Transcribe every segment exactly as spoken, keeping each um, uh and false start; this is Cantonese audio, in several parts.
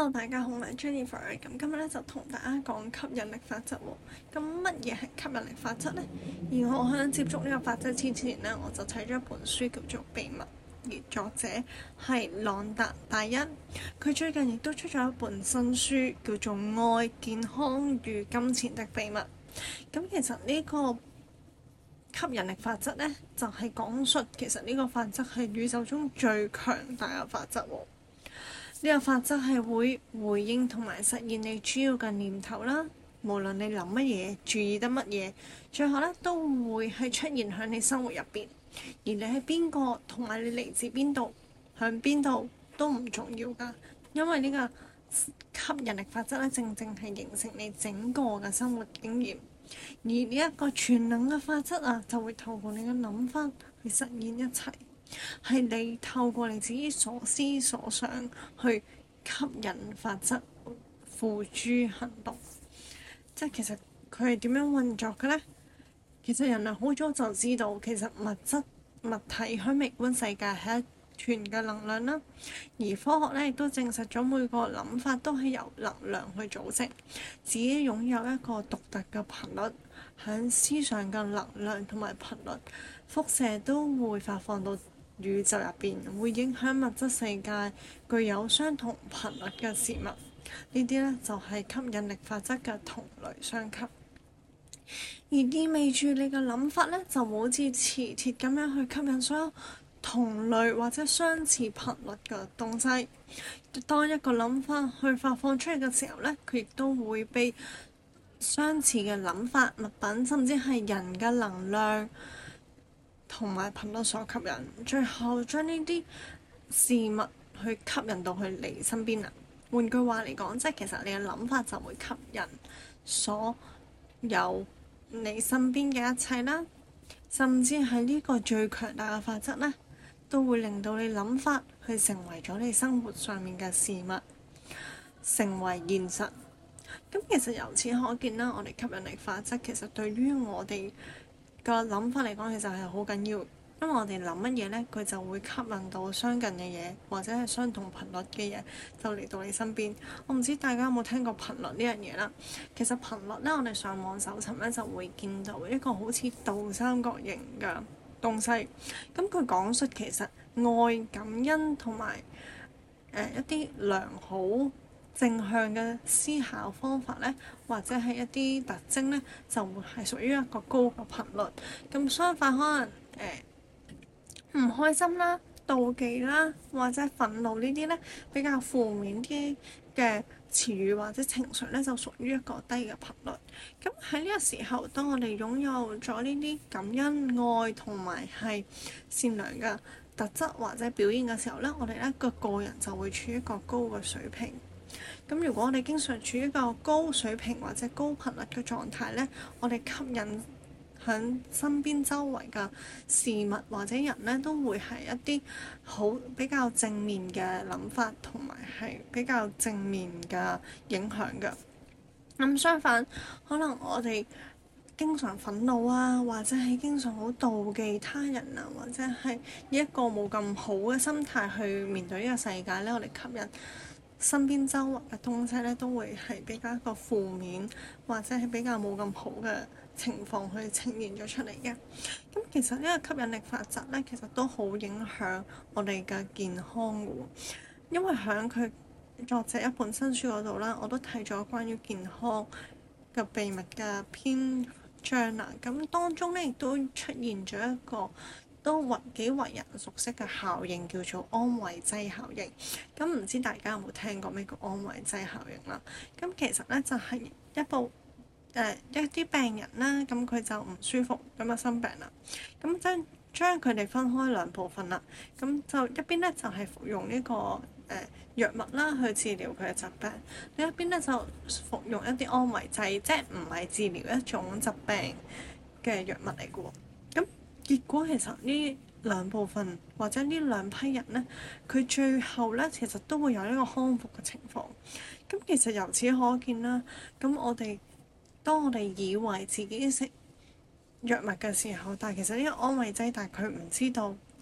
Hello，大家好，我係 Jennifer。咁今日咧就同大家講吸引力法則喎。咁乜嘢係吸引力法則呢？而我喺接觸呢個法則之前呢，我就睇咗一本書叫做《秘密》，而作者係朗達大一。佢最近亦都出咗一本新書，叫做《愛、健康與金錢的秘密》。咁其實呢個吸引力法則呢，就係講述其實呢個法則係宇宙中最強大嘅法則喎。呢個法則係會回應同埋實現你主要嘅念頭啦，無論你諗乜嘢、注意得乜嘢，最後咧都會係出現喺你生活入邊。而你係邊個同埋你嚟自邊度、向邊度都唔重要㗎，因為呢個吸引力法則咧，正正係形成你整個嘅生活經驗。而呢一個全能嘅法則啊，就會透過你嘅諗法去實現一切。係你透過你自己所思所想去吸引法則付諸行動，即係其實佢係點樣運作嘅呢？其實人類好早就知道，其實物質物體喺微觀世界係一團嘅能量啦。而科學咧亦都證實咗每個諗法都係由能量去組成，自己擁有一個獨特嘅頻率，響思想嘅能量同埋頻率輻射都會發放到宇宙入邊，會影響物質世界具有相同頻率嘅事物。呢啲呢，就係吸引力法則嘅同類相吸，而意味住你嘅諗法呢，就好似磁鐵咁樣去吸引所有同類或者相似頻率嘅東西。當一個諗法去發放出去嘅時候呢，佢亦都會被相似嘅諗法、物品甚至係人嘅能量同埋頻率所吸引，最後將呢啲事物去吸引到去你身邊啦。換句話嚟講，即係其實你嘅諗法就會吸引所有你身邊嘅一切啦，甚至係呢個最強大嘅法則呢，都會令到你諗法去成為咗你生活上面嘅事物，成為現實。咁其實由此可見啦，我哋吸引力法則其實對於我哋個諗法嚟講，其實係好緊要，因為我哋諗乜嘢呢，佢就會吸引到相近嘅嘢，或者係相同頻率嘅嘢，就嚟到你身邊。我唔知大家有冇聽過頻率呢樣嘢啦？其實頻率呢，我哋上網搜尋呢，就會見到一個好似倒三角形嘅東西。咁佢講述其實愛、感恩同埋誒一啲良好正向嘅思考方法呢，或者係一啲特徵呢，就會係屬於一個高嘅頻率。咁相反，可能誒唔開心啦、妒忌啦，或者憤怒呢啲呢，比較負面啲嘅詞語或者情緒呢，就屬於一個低嘅頻率。咁喺呢個時候，當我哋擁有咗呢啲感恩、愛同埋係善良嘅特質或者表現嘅時候呢，我哋呢個個人就會處於一個高嘅水平。咁如果我哋經常處於一個高水平或者高頻率嘅狀態呢，我哋吸引響身邊周圍嘅事物或者人呢，都會係一啲好比較正面嘅諗法，同埋係比較正面嘅影響嘅。咁相反，可能我哋經常憤怒啊，或者係經常好妒忌他人啊，或者係以一個冇咁好嘅心態去面對呢個世界呢，我哋吸引身邊周圍嘅東西咧，都會係比較一個負面，或者係比較冇咁好嘅情況去呈現咗出嚟嘅。咁其實呢個吸引力法則咧，其實都好影響我哋嘅健康嘅，因為喺佢作者一本新書嗰度啦，我都睇咗關於健康嘅秘密嘅篇章啦。咁當中咧亦都出現咗一個都為幾為人熟悉嘅效應，叫做安慰劑效應。咁唔知大家有冇聽過咩叫安慰劑效應啦？咁其實咧就係一部誒、呃、一啲病人啦，咁佢就唔舒服，咁就生病啦。咁將將佢哋分開兩部分啦。咁就一邊咧就係、是、服用呢、這個誒、呃、藥物啦去治療佢嘅疾病，另一邊咧就服用一啲安慰劑，即係唔係治療一種疾病嘅藥物嚟嘅喎。咁結果其實呢兩部分或者呢兩批人呢，佢最後呢其實都會有一個康復嘅情況。咁其實由此可見啦，咁我哋當我哋以為自己食藥物嘅時候，但係其實呢個安慰劑，但係佢唔知道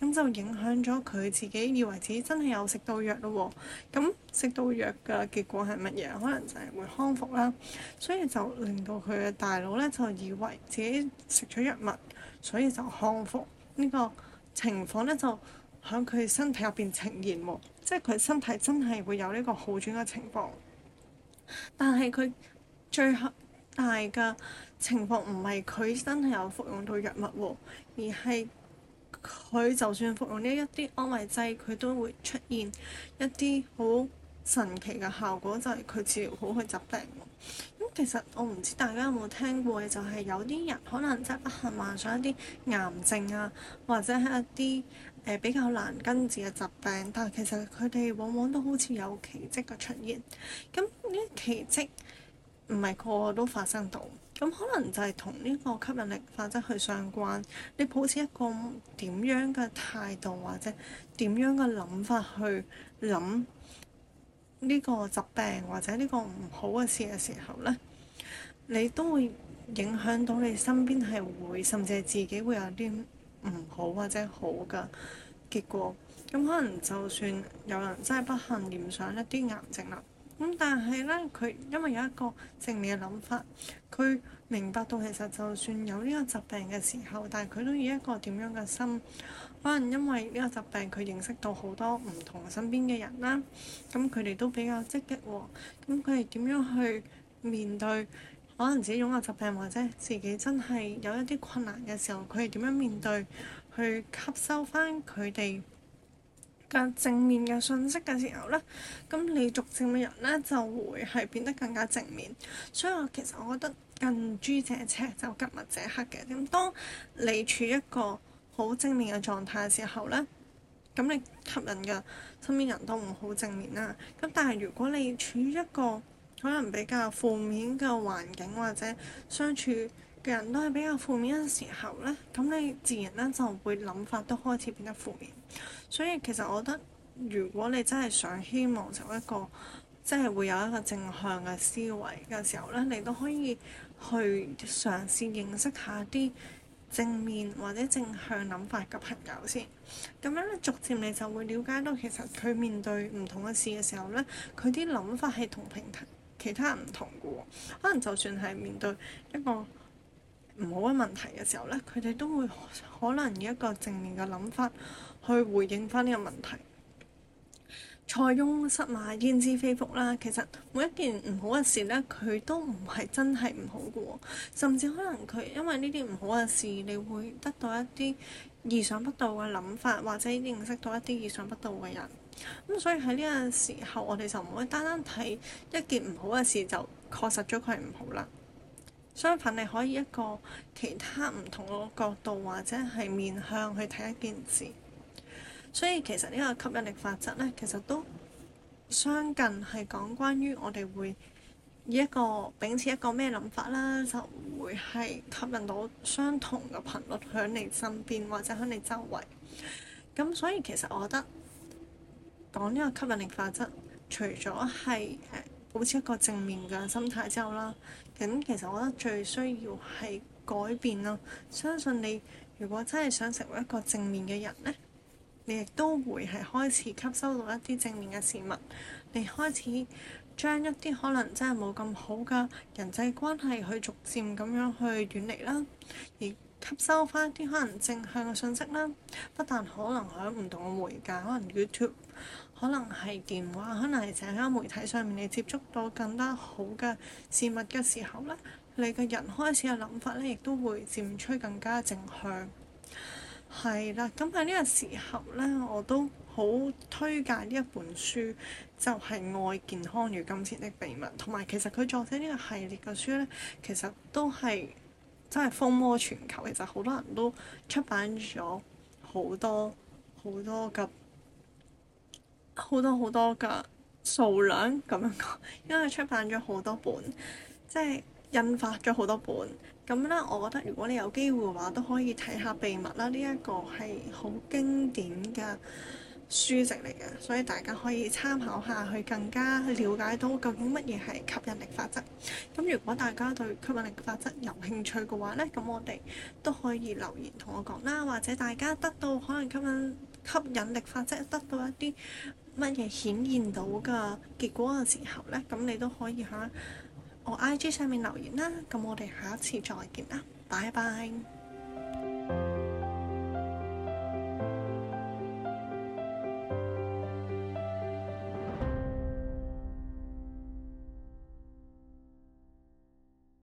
咁就影響咗佢自己以為自己真係有食到藥咯喎。咁食到藥嘅結果係乜嘢？可能就係會康復啦。所以就令到佢嘅大腦咧就以為自己食咗藥物，所以就康復。呢個情況咧就喺佢身體入邊呈現喎，即係佢身體真係會有呢個好轉嘅情況。但係佢最後大嘅情況唔係佢真係有服用到藥物喎，而係佢就算服用呢一啲安慰劑，佢都會出現一啲好神奇嘅效果，就係、是、佢治療好佢疾病喎。咁其實我唔知大家有冇聽過嘅，就係、是、有啲人可能真係不幸患上一啲癌症啊，或者係一啲誒、呃、比較難根治嘅疾病，但係其實佢哋往往都好似有奇蹟嘅出現。咁呢啲奇蹟唔係個個都發生到，咁可能就係同呢個吸引力法則去相關。你抱持一個點樣嘅態度或者點樣嘅諗法去諗呢個疾病或者呢個唔好嘅事嘅時候呢，你都會影響到你身邊係會，甚至係自己會有啲唔好或者好嘅結果。咁可能就算有人真係不幸染上一啲癌症啦。咁但係咧，佢因為有一個正面嘅諗法，佢明白到其實就算有呢個疾病嘅時候，但係佢都以一個點樣嘅心，可能因為呢個疾病佢認識到好多唔同身邊嘅人啦，咁佢哋都比較積極喎。咁佢哋點樣去面對可能自己擁有疾病或者自己真係有一啲困難嘅時候，佢哋點樣面對，去吸收翻佢哋嘅正面嘅信息嘅時候呢，咁你逐漸嘅人呢就會係變得更加正面。所以我其實我覺得近朱者赤就吉物者黑嘅。咁當你處於一個好正面嘅狀態嘅時候呢，咁你吸引嘅身邊人都唔好正面啦。咁但係如果你處於一個可能比較負面嘅環境或者相處嘅人都係比較負面嘅時候呢，咁你自然呢就會諗法都開始變得負面。所以其實我覺得，如果你真係想希望成為一個即係會有一個正向嘅思維嘅時候呢，你都可以去嘗試認識下啲正面或者正向諗法嘅朋友先。咁樣咧，逐漸你就會了解到其實佢面對唔同嘅事嘅時候呢，佢啲諗法係同平其他人唔同嘅喎。可能就算係面對一個唔好嘅問題嘅時候呢，佢哋都會可能以一個正面嘅諗法去回應翻呢個問題。塞翁失馬焉知非福啦，其實每一件唔好嘅事呢，佢都唔係真係唔好嘅喎，甚至可能佢因為呢啲唔好嘅事，你會得到一啲意想不到嘅諗法，或者認識到一啲意想不到嘅人。咁所以喺呢個時候，我哋就唔可以單單睇一件唔好嘅事就確實咗佢係唔好啦。相反，你可以一個其他唔同嘅角度或者係面向去睇一件事。所以其實呢個吸引力法則呢，其實都相近係講關於我哋會以一個秉持一個咩諗法啦，就會係吸引到相同嘅頻率喺你身邊或者喺你周圍。咁所以其實我覺得講呢個吸引力法則，除咗係誒保持一個正面嘅心態之後啦，咁其實我覺得最需要係改變咯。相信你如果真係想成為一個正面嘅人呢，你亦都會係開始吸收到一啲正面嘅事物，你開始將一啲可能真係冇咁好嘅人際關係去逐漸咁樣去遠離啦，而吸收翻一啲可能正向嘅信息啦。不但可能喺唔同嘅媒介，可能 YouTube， 可能係電話，可能係社交媒體上面，你接觸到更加好嘅事物嘅時候咧，你嘅人開始嘅諗法咧，亦都會漸趨更加正向。係啦，咁喺呢個時候呢，我都好推介呢一本書，就係《愛、健康與金錢的秘密》，同埋其實佢作者呢個系列嘅書呢，其實都係真係風靡全球。其實好多人都出版咗好多好多嘅好多好多嘅數量咁樣講，因為出版咗好多本，即係印發咗好多本。咁咧，我覺得如果你有機會嘅話，都可以睇下《秘密》啦。呢一個係好經典嘅書籍嚟嘅，所以大家可以參考下去，更加了解到究竟乜嘢係吸引力法則。咁如果大家對吸引力法則有興趣嘅話呢，咁我哋都可以留言同我講啦，或者大家得到可能吸引吸引力法則得到一啲乜嘢顯現到嘅結果嘅時候呢，咁你都可以喺我 I G 上面留言啦。咁我哋下一次再見啦，拜拜。